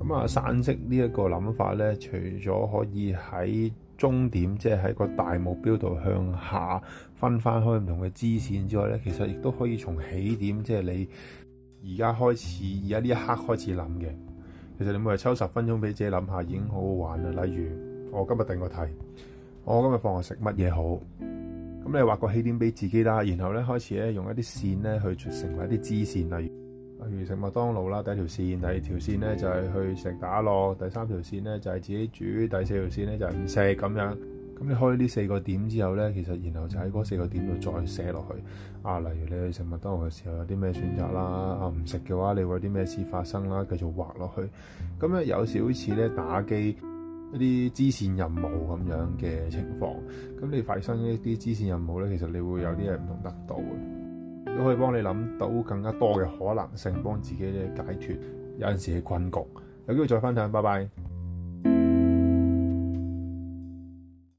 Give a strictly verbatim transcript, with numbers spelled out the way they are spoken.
咁啊，散色呢一個諗法咧，除咗可以喺終點，即係喺個大目標度向下分翻開唔同嘅支線之外咧，其實亦都可以從起點，即係你而家開始，而家呢一刻開始諗嘅。其實你每日抽十分鐘俾自己諗下，已經好好玩啦。例如我今日定個題，我今日放學食乜嘢好？咁你畫個起點俾自己啦，然後咧開始咧用一啲線咧去成為一啲支線，例如。例如食麥當勞啦，第一條線；第二條線咧就係去食打樂；第三條線咧就係自己煮；第四條線咧就係唔食咁樣。咁你開呢四個點之後咧，其實然後就喺嗰四個點度再寫落去。啊，例如你去食麥當勞嘅時候有啲咩選擇啦，啊唔食嘅話你會有啲咩事發生啦，繼續畫落去。咁咧有少少似咧打機一啲支線任務咁樣嘅情況。咁你發生一啲支線任務咧，其實你會有啲嘢唔同得到嘅。都可以幫你諗到更加多嘅可能性，幫自己咧解脫有陣時嘅困局。有機會再分享，拜拜。